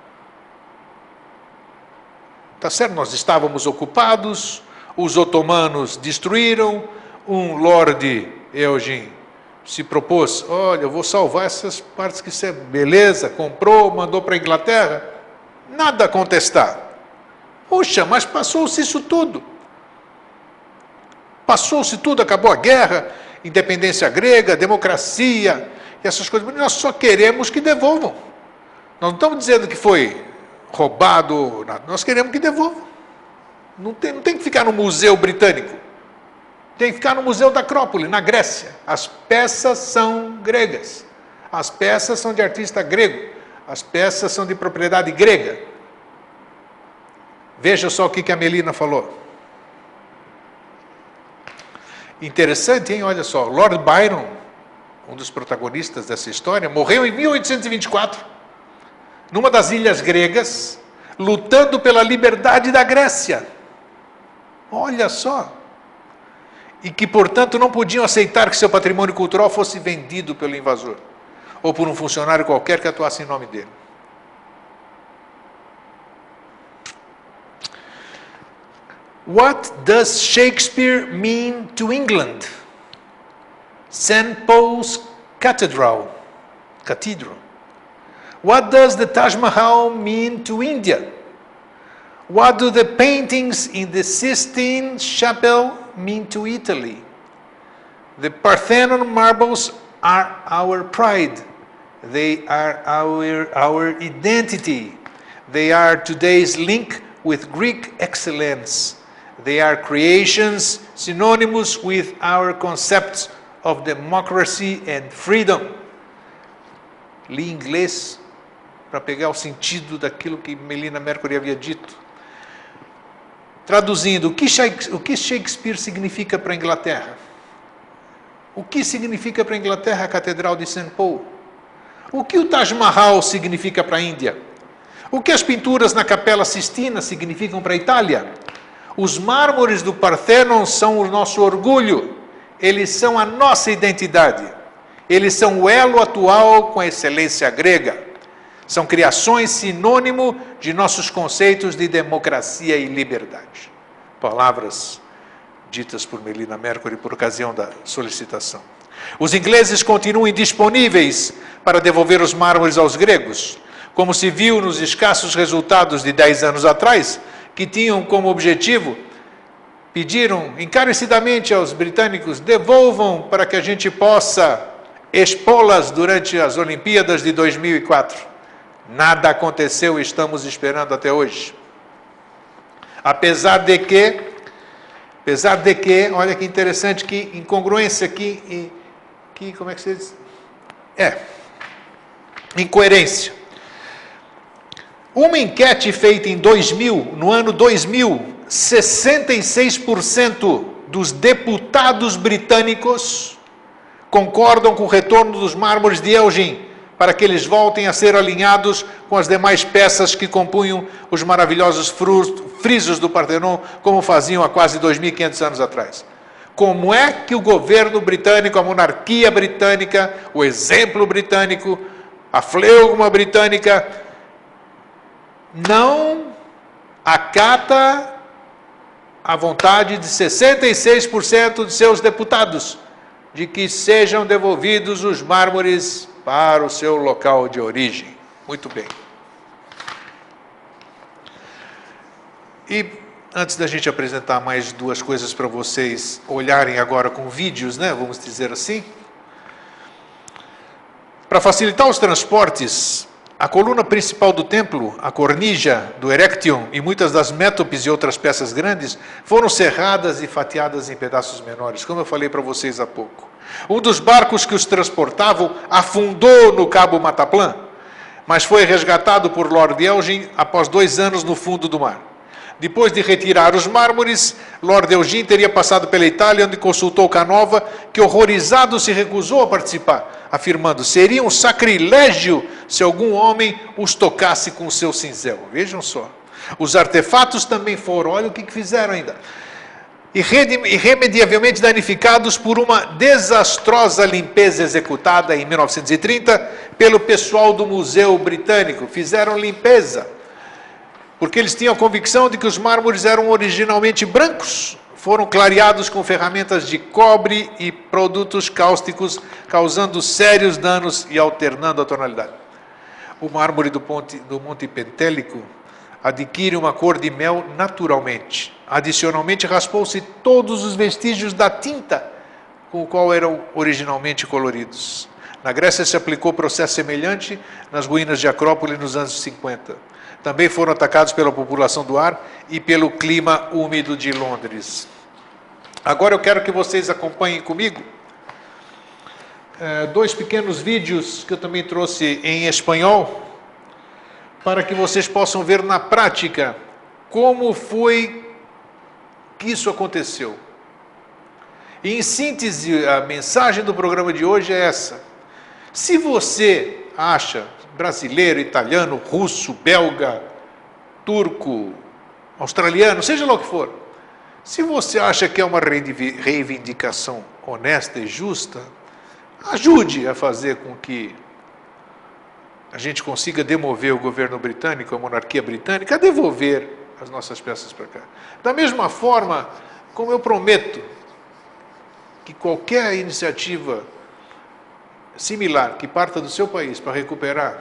Speaker 1: Tá certo? Nós estávamos ocupados, os otomanos destruíram, um lorde Elgin se propôs, olha, eu vou salvar essas partes que isso é beleza, comprou, mandou para a Inglaterra, nada a contestar. Puxa, mas passou-se isso tudo. Passou-se tudo, acabou a guerra, independência grega, democracia, e essas coisas. Mas nós só queremos que devolvam. Nós não estamos dizendo que foi roubado, nada. Nós queremos que devolvam. Não tem que ficar no Museu Britânico. Tem que ficar no Museu da Acrópole, na Grécia. As peças são gregas. As peças são de artista grego. As peças são de propriedade grega. Veja só o que a Melina falou. Interessante, hein? Olha só, Lord Byron, um dos protagonistas dessa história, morreu em 1824, numa das ilhas gregas, lutando pela liberdade da Grécia. Olha só. E que, portanto, não podiam aceitar que seu patrimônio cultural fosse vendido pelo invasor. ou por um funcionário qualquer que atuasse em nome dele. What does Shakespeare mean to England? St. Paul's Cathedral. What does the Taj Mahal mean to India? What do the paintings in the Sistine Chapel mean to Italy? The Parthenon marbles are our pride. They are our identity. They are today's link with Greek excellence. They are creations synonymous with our concepts of democracy and freedom. Li em inglês para pegar o sentido daquilo que Melina Mercury havia dito. Traduzindo, o que Shakespeare significa para a Inglaterra? O que significa para a Inglaterra a Catedral de St. Paul? O que o Taj Mahal significa para a Índia? O que as pinturas na Capela Sistina significam para a Itália? Os mármores do Parthenon são o nosso orgulho. Eles são a nossa identidade. Eles são o elo atual com a excelência grega. São criações sinônimo de nossos conceitos de democracia e liberdade. Palavras ditas por Melina Mercury por ocasião da solicitação. Os ingleses continuam indisponíveis para devolver os mármores aos gregos, como se viu nos escassos resultados de 10 anos atrás, que tinham como objetivo, pediram encarecidamente aos britânicos, devolvam para que a gente possa expô-las durante as Olimpíadas de 2004. Nada aconteceu e estamos esperando até hoje. Apesar de que, olha que interessante, que incongruência aqui, como é que se diz? Incoerência. Uma enquete feita em 2000, no ano 2000, 66% dos deputados britânicos concordam com o retorno dos mármores de Elgin, para que eles voltem a ser alinhados com as demais peças que compunham os maravilhosos frisos do Parthenon, como faziam há quase 2.500 anos atrás. Como é que o governo britânico, a monarquia britânica, o exemplo britânico, a fleugma britânica, não acata a vontade de 66% de seus deputados de que sejam devolvidos os mármores para o seu local de origem? Muito bem. E antes da gente apresentar mais duas coisas para vocês olharem agora com vídeos, né, vamos dizer assim, para facilitar os transportes, a coluna principal do templo, a cornija do Erechtheion e muitas das métopes e outras peças grandes foram serradas e fatiadas em pedaços menores, como eu falei para vocês há pouco. Um dos barcos que os transportavam afundou no Cabo Mataplan, mas foi resgatado por Lord Elgin após 2 anos no fundo do mar. Depois de retirar os mármores, Lord Elgin teria passado pela Itália, onde consultou Canova, que horrorizado se recusou a participar, afirmando: seria um sacrilégio se algum homem os tocasse com o seu cinzel. Vejam só. Os artefatos também foram, olha o que fizeram ainda, irremediavelmente danificados por uma desastrosa limpeza executada em 1930 pelo pessoal do Museu Britânico. Fizeram limpeza, porque eles tinham a convicção de que os mármores eram originalmente brancos. Foram clareados com ferramentas de cobre e produtos cáusticos, causando sérios danos e alternando a tonalidade. O mármore do Monte Pentélico adquire uma cor de mel naturalmente. Adicionalmente, raspou-se todos os vestígios da tinta com o qual eram originalmente coloridos. Na Grécia se aplicou processo semelhante nas ruínas de Acrópole nos anos 50. Também foram atacados pela população do ar e pelo clima úmido de Londres. Agora eu quero que vocês acompanhem comigo 2 pequenos vídeos que eu também trouxe em espanhol, para que vocês possam ver na prática como foi que isso aconteceu. E, em síntese, a mensagem do programa de hoje é essa. Se você acha, brasileiro, italiano, russo, belga, turco, australiano, seja lá o que for, se você acha que é uma reivindicação honesta e justa, ajude a fazer com que a gente consiga demover o governo britânico, a monarquia britânica, a devolver as nossas peças para cá. Da mesma forma, como eu prometo que qualquer iniciativa similar que parta do seu país para recuperar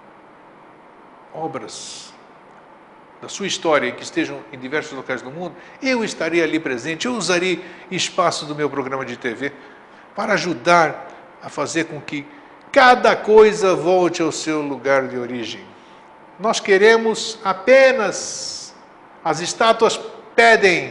Speaker 1: obras da sua história que estejam em diversos locais do mundo, eu estarei ali presente, eu usarei espaço do meu programa de TV para ajudar a fazer com que cada coisa volte ao seu lugar de origem. Nós queremos apenas, as estátuas pedem,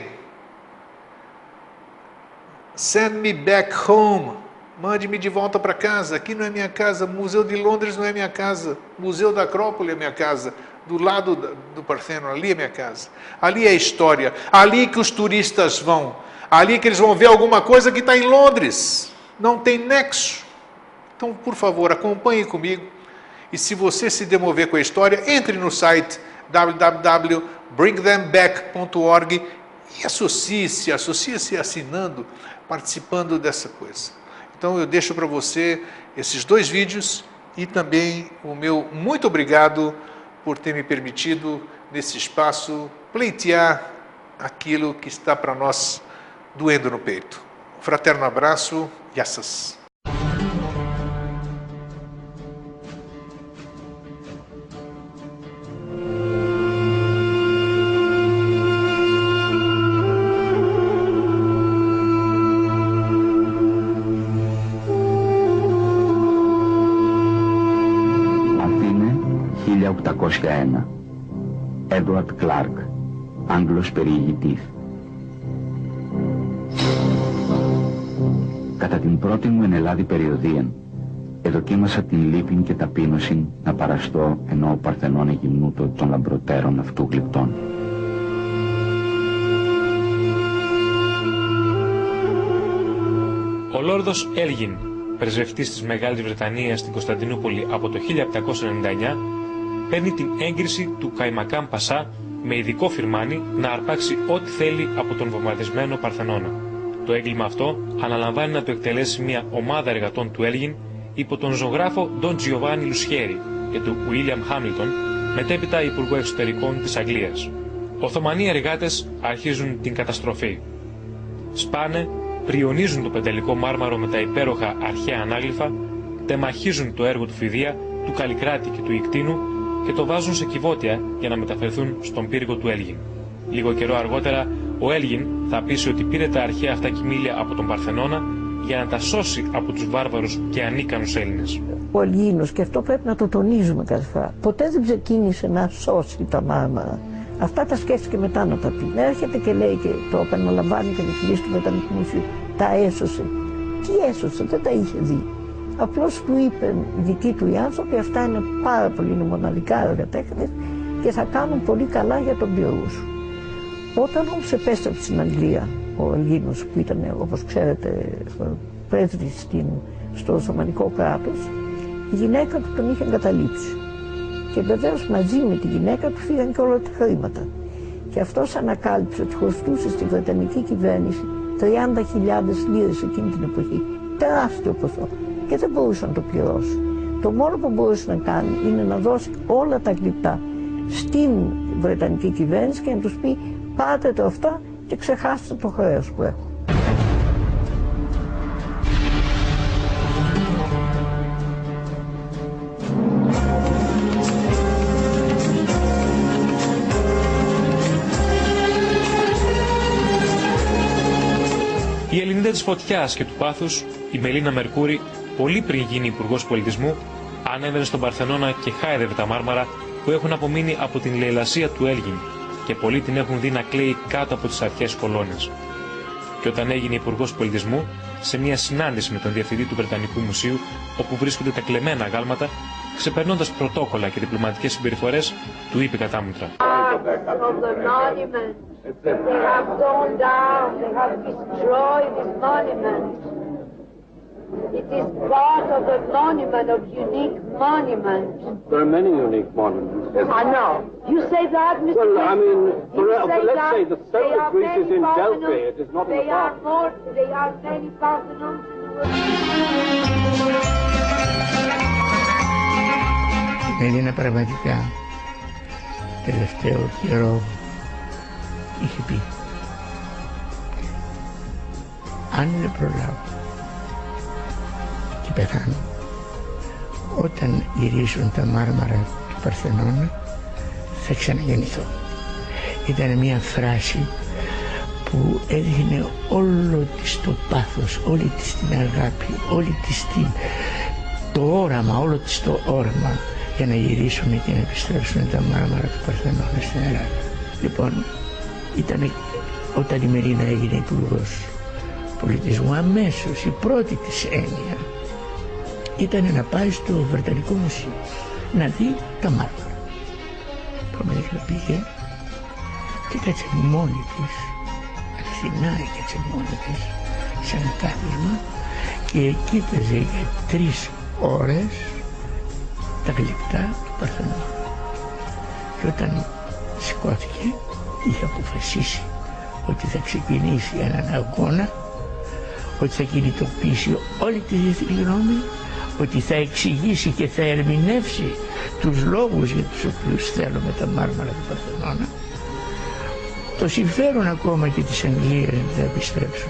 Speaker 1: send me back home, mande-me de volta para casa, aqui não é minha casa, Museu de Londres não é minha casa, Museu da Acrópole é minha casa, do lado do Parthenon, ali é minha casa, ali é a história, ali que os turistas vão, ali que eles vão ver alguma coisa que está em Londres, não tem nexo. Então, por favor, acompanhe comigo, e se você se demover com a história, entre no site www.bringthemback.org e associe-se assinando, participando dessa coisa. Então, eu deixo para você esses 2 vídeos e também o meu muito obrigado por ter me permitido, nesse espaço, pleitear aquilo que está para nós doendo no peito. Um fraterno abraço, yassas.
Speaker 6: Edward Clark, Άγγλος περιηγητής. Κατά την πρώτη μου εν Ελλάδη περιοδία, εδοκίμασα την λύπην και ταπείνωσιν να παραστώ ενώ ο Παρθενών εγυμνούτο των λαμπροτέρων αυτού γλυπτών.
Speaker 7: Ο Λόρδος Έλγιν, πρεσβευτής της Μεγάλης Βρετανίας στην Κωνσταντινούπολη από το 1799, παίρνει την έγκριση του Καϊμακάν Πασά με ειδικό φιρμάνι να αρπάξει ό,τι θέλει από τον βομβαρδισμένο Παρθενώνα. Το έγκλημα αυτό αναλαμβάνει να το εκτελέσει μια ομάδα εργατών του Έλγιν υπό τον ζωγράφο Ντον Τζιοβάνι Λουσιέρι και του Ουίλιαμ Χάμιλτον, μετέπειτα Υπουργό Εξωτερικών της Αγγλίας. Οθωμανοί εργάτες αρχίζουν την καταστροφή. Σπάνε, πριονίζουν το πεντελικό μάρμαρο με τα υπέροχα αρχαία ανάγλυφα, τεμαχίζουν το έργο του Φιδία, του Καλλικράτη και του Ικτίνου και το βάζουν σε κυβότια για να μεταφερθούν στον πύργο του Έλγιν. Λίγο καιρό αργότερα, ο Έλγιν θα πείσει ότι πήρε τα αρχαία αυτά κοιμήλια από τον Παρθενώνα για να τα σώσει από τους βάρβαρους και ανίκανους Έλληνες.
Speaker 8: Ο Ελλήνος, και αυτό πρέπει να το τονίζουμε κάθε φορά, ποτέ δεν ξεκίνησε να σώσει τα μάρμαρα. Αυτά τα σκέφτηκε μετά να τα πει. Έρχεται και λέει και το επαναλαμβάνει και διευθυντής του Βρετανικού Μουσείου, τα έσωσε. Τι έσωσε, δεν τα είχε δει. Απλώς του είπε οι δικοί του οι άνθρωποι, αυτά είναι πάρα πολύ, είναι μοναδικά έργα τέχνης και θα κάνουν πολύ καλά για τον πύργο σου. Όταν όμως επέστρεψε στην Αγγλία, ο Ελλήνος που ήταν, όπως ξέρετε, πρέσβης στο Οθωμανικό κράτος, η γυναίκα του τον είχε εγκαταλείψει. Και βεβαίως μαζί με τη γυναίκα του φύγαν και όλα τα χρήματα. Και αυτός ανακάλυψε ότι χρωστούσε στη Βρετανική κυβέρνηση 30.000 λίρες εκείνη την εποχή. Τεράστιο ποσό. Και δεν μπορούσε να το πληρώσει. Το μόνο που μπορούσε να κάνει είναι να δώσει όλα τα γλυπτά στην Βρετανική κυβέρνηση και να τους πει πάτε το αυτά και ξεχάστε το χρέος που έχω.
Speaker 7: Η Ελληνίδα της φωτιάς και του πάθους, η Μελίνα Μερκούρη, πολύ πριν γίνει υπουργός πολιτισμού, ανέβαινε στον Παρθενώνα και χάιδευε τα μάρμαρα που έχουν απομείνει από την λαιλασία του Έλγιν και πολλοί την έχουν δει να κλαίει κάτω από τις αρχαίες κολόνες. Και όταν έγινε υπουργός πολιτισμού, σε μια συνάντηση με τον διευθυντή του Βρετανικού Μουσείου, όπου βρίσκονται τα κλεμμένα αγάλματα, ξεπερνώντας πρωτόκολλα και διπλωματικές συμπεριφορές, του είπε κατάμουτρα:
Speaker 9: It is part of a monument, of unique monument.
Speaker 10: There are many unique monuments.
Speaker 9: I know. You say that, Mr.
Speaker 10: Well, I mean,
Speaker 9: let's
Speaker 10: say the Stoic Greece is in Delphi. It is not in the park.
Speaker 9: They are many Parthenons in the world.
Speaker 11: στην Έλληνα πραγματικά τελευταίο καιρό είχε πει αν δεν προλάβω και πεθάνω, όταν γυρίσουν τα μάρμαρα του Παρθενώνα θα ξαναγεννηθώ. Ήταν μια φράση που έδειχνε όλο της το πάθος, όλη της την αγάπη, όλη της το όραμα, όλο της το όραμα για να γυρίσουν και να επιστρέψουν τα μάρμαρα του Παρθενώνα στην Ελλάδα. Λοιπόν, ήταν όταν η Μερίνα έγινε υπουργός πολιτισμού, αμέσως η πρώτη της έννοια ήταν να πάει στο Βρετανικό Μουσείο να δει τα μάρμαρα. Προμήθηκα πήγε και κάτσε μόνη της, αληθινά κάτσε μόνη της, σαν κάθισμα και κοίταζε για 3 ώρες τα γλυπτά του Παρθενώνα. Και όταν σηκώθηκε είχε αποφασίσει ότι θα ξεκινήσει έναν αγώνα, ότι θα κινητοποιήσει όλη τη διεθνή γνώμη, ότι θα εξηγήσει και θα ερμηνεύσει τους λόγους για τους οποίους θέλουμε τα μάρμαρα του Παρθενώνα, το συμφέρον ακόμα και της Αγγλίας να επιστρέψουν.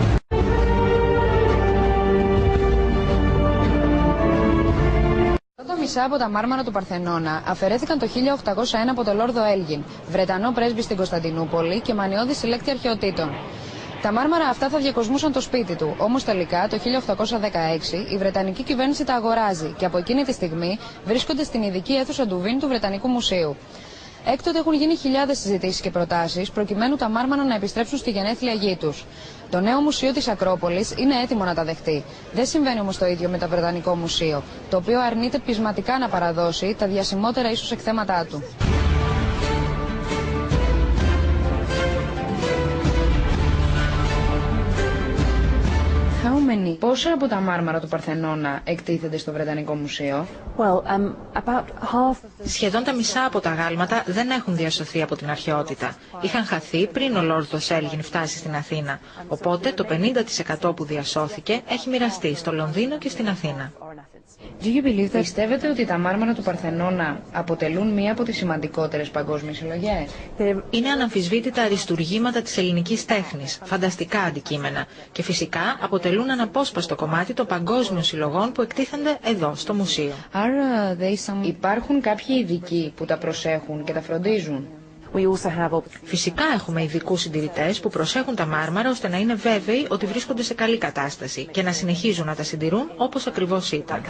Speaker 12: Τα μισά από τα μάρμαρα του Παρθενώνα αφαιρέθηκαν το 1801 από τον Λόρδο Έλγιν, Βρετανό πρέσβη στην Κωνσταντινούπολη και μανιώδη συλλέκτη αρχαιοτήτων. Τα μάρμαρα αυτά θα διακοσμούσαν το σπίτι του, όμως τελικά το 1816 η Βρετανική κυβέρνηση τα αγοράζει και από εκείνη τη στιγμή βρίσκονται στην ειδική αίθουσα Ντουβίν του Βρετανικού Μουσείου. Έκτοτε έχουν γίνει χιλιάδες συζητήσεις και προτάσεις προκειμένου τα μάρμαρα να επιστρέψουν στη γενέθλια γη τους. Το νέο μουσείο της Ακρόπολης είναι έτοιμο να τα δεχτεί. Δεν συμβαίνει όμως το ίδιο με το Βρετανικό Μουσείο, το οποίο αρνείται πεισματικά να παραδώσει τα διασημότερα ίσως εκθέματά του. Πόσα από τα μάρμαρα του Παρθενώνα εκτίθενται στο Βρετανικό Μουσείο?
Speaker 13: Σχεδόν τα μισά από τα γάλματα δεν έχουν διασωθεί από την αρχαιότητα. Είχαν χαθεί πριν ο Λόρδος Έλγιν φτάσει στην Αθήνα. Οπότε το 50% που διασώθηκε έχει μοιραστεί στο Λονδίνο και στην Αθήνα.
Speaker 12: Πιστεύετε ότι τα μάρμαρα του Παρθενώνα αποτελούν μία από τις σημαντικότερες παγκόσμιες συλλογές?
Speaker 13: Είναι αναμφισβήτητα αριστουργήματα της ελληνικής τέχνης, φανταστικά αντικείμενα και φυσικά αποτελούν αναπόσπαστο κομμάτι των παγκόσμιων συλλογών που εκτίθενται εδώ στο μουσείο.
Speaker 12: Άρα υπάρχουν κάποιοι ειδικοί που τα προσέχουν και τα φροντίζουν?
Speaker 13: Φυσικά έχουμε ειδικούς συντηρητές που προσέχουν τα μάρμαρα ώστε να είναι βέβαιοι ότι βρίσκονται σε καλή κατάσταση και να συνεχίζουν να τα συντηρούν όπως ακριβώς ήταν.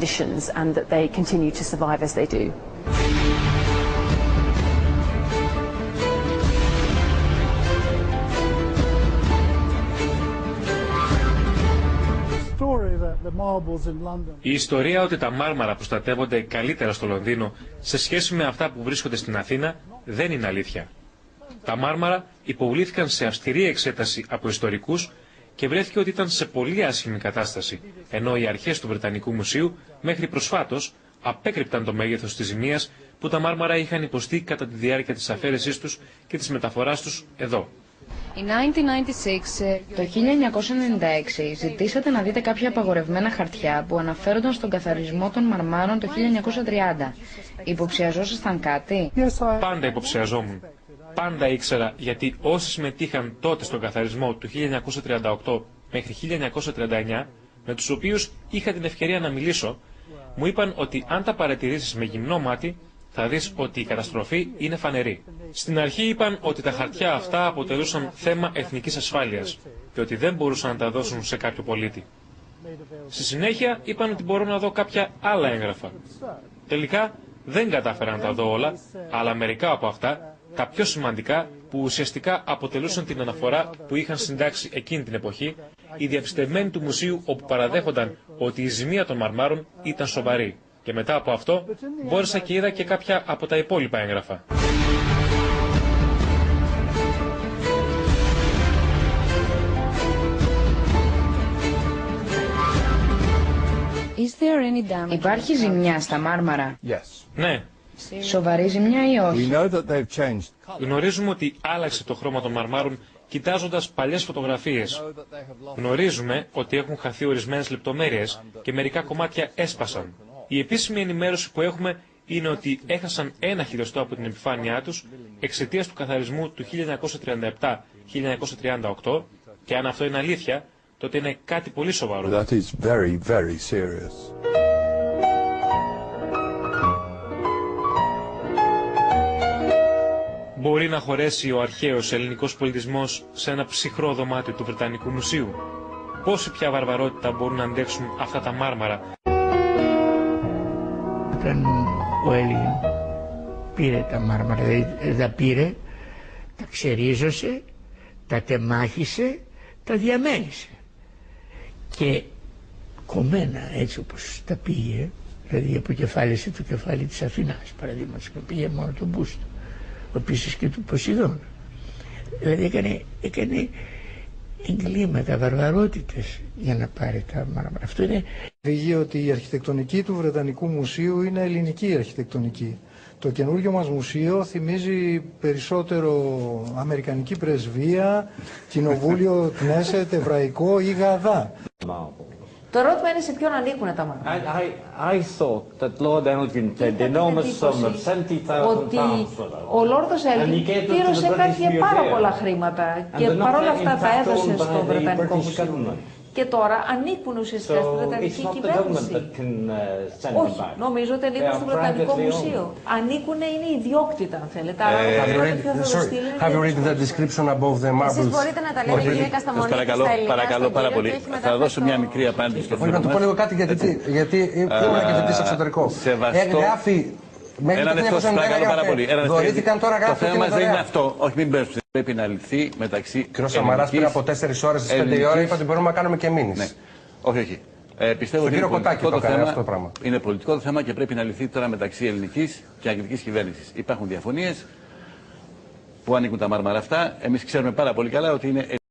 Speaker 7: Η ιστορία ότι τα μάρμαρα προστατεύονται καλύτερα στο Λονδίνο σε σχέση με αυτά που βρίσκονται στην Αθήνα δεν είναι αλήθεια. Τα μάρμαρα υποβλήθηκαν σε αυστηρή εξέταση από ιστορικούς και βρέθηκε ότι ήταν σε πολύ άσχημη κατάσταση, ενώ οι αρχές του Βρετανικού Μουσείου μέχρι προσφάτως απέκρυπταν το μέγεθος της ζημίας που τα μάρμαρα είχαν υποστεί κατά τη διάρκεια της αφαίρεσής τους και της μεταφοράς τους εδώ.
Speaker 12: In 1996, το 1996, ζητήσατε να δείτε κάποια απαγορευμένα χαρτιά που αναφέρονταν στον καθαρισμό των μαρμάρων το 1930. Υποψιαζόσασταν κάτι?
Speaker 7: Πάντα υποψιαζόμουν. Πάντα ήξερα, γιατί όσοι συμμετείχαν τότε στον καθαρισμό του 1938 μέχρι 1939, με τους οποίους είχα την ευκαιρία να μιλήσω, μου είπαν ότι αν τα παρατηρήσεις με γυμνό μάτι, θα δεις ότι η καταστροφή είναι φανερή. Στην αρχή είπαν ότι τα χαρτιά αυτά αποτελούσαν θέμα εθνικής ασφάλειας και ότι δεν μπορούσαν να τα δώσουν σε κάποιο πολίτη. Στη συνέχεια είπαν ότι μπορώ να δω κάποια άλλα έγγραφα. Τελικά δεν κατάφερα να τα δω όλα, αλλά μερικά από αυτά, τα πιο σημαντικά, που ουσιαστικά αποτελούσαν την αναφορά που είχαν συντάξει εκείνη την εποχή, οι διαπιστευμένοι του μουσείου, όπου παραδέχονταν ότι η ζημία των μαρμάρων ήταν σοβαρή. Και μετά από αυτό μπόρεσα και είδα και κάποια από τα υπόλοιπα έγγραφα.
Speaker 12: Υπάρχει ζημιά στα μάρμαρα?
Speaker 7: Ναι.
Speaker 12: Σοβαρή ζημιά ή όχι?
Speaker 7: Γνωρίζουμε ότι άλλαξε το χρώμα των μαρμάρων κοιτάζοντας παλιές φωτογραφίες. Γνωρίζουμε ότι έχουν χαθεί ορισμένες λεπτομέρειες και μερικά κομμάτια έσπασαν. Η επίσημη ενημέρωση που έχουμε είναι ότι έχασαν 1 χιλιοστό από την επιφάνειά τους εξαιτίας του καθαρισμού του 1937-1938 και αν αυτό είναι αλήθεια, τότε είναι κάτι πολύ σοβαρό.
Speaker 14: That is very, very serious.
Speaker 7: Μπορεί να χωρέσει ο αρχαίος ελληνικός πολιτισμός σε ένα ψυχρό δωμάτιο του Βρετανικού Μουσείου? Πόση πια βαρβαρότητα μπορούν να αντέξουν αυτά τα μάρμαρα?
Speaker 11: Όταν ο Έλλην πήρε τα μάρμαρα, δηλαδή τα πήρε, τα ξερίζωσε, τα τεμάχισε, τα διαμέλισε. Και κομμένα έτσι όπως τα πήγε, δηλαδή αποκεφάλισε το κεφάλι της Αθηνάς, παραδείγματος, που πήγε μόνο τον μπούστο, επίσης και του Ποσειδώνα. Δηλαδή έκανε εγκλήματα, βαρβαρότητες για να πάρει τα μάρμαρα. Αυτό είναι...
Speaker 15: Φύγει ότι η αρχιτεκτονική του Βρετανικού Μουσείου είναι ελληνική αρχιτεκτονική. Το καινούργιο μας μουσείο θυμίζει περισσότερο αμερικανική πρεσβεία, κοινοβούλιο, κνέσετ, εβραϊκό ή γαδά.
Speaker 16: Το ερώτημα είναι σε ποιον ανήκουν τα μάρμαρα.
Speaker 17: I thought that Lord Elgin paid the enormous sum of 70,000
Speaker 16: ότι ο Λόρδος Έλγιν πλήρωσε κάποια πάρα πολλά χρήματα και παρόλα αυτά τα έδωσε στο Βρετανικό Μουσείο. Και τώρα ανήκουν ουσιαστικά στη Βρετανική κυβέρνηση. Όχι, νομίζω ότι ανήκουν στο Βρετανικό Μουσείο. Ανήκουν, είναι ιδιόκτητα, αν θέλετε.
Speaker 18: Have you read the description above the marbles?
Speaker 19: Εσείς μπορείτε να τα λέτε κύριε Κασταμονίκη στα ελληνικά.
Speaker 20: Παρακαλώ πάρα πολύ. Θα δώσω μια μικρή απάντηση στο θέμα μας.
Speaker 18: Να του πω λίγο κάτι γιατί ήμουν και φοιτητής εξωτερικό. Γράφει μέχρι το 1990 δωρήθηκαν, τώρα γράφει.
Speaker 20: Το θέμα μας δεν είναι αυτό. Όχι, μην πέσουμε. Πρέπει να λυθεί μεταξύ.
Speaker 18: Κύριο Σαμαράς πριν από 4 ώρες στις 5 η ώρα είπε ότι μπορούμε να κάνουμε και μήνυς.
Speaker 20: Ναι. Όχι. Πιστεύω ότι είναι πολιτικό το θέμα και πρέπει να λυθεί τώρα μεταξύ ελληνικής και αγγλικής κυβέρνησης. Υπάρχουν διαφωνίες που ανήκουν τα μάρμαρα αυτά. Εμείς ξέρουμε πάρα πολύ καλά ότι είναι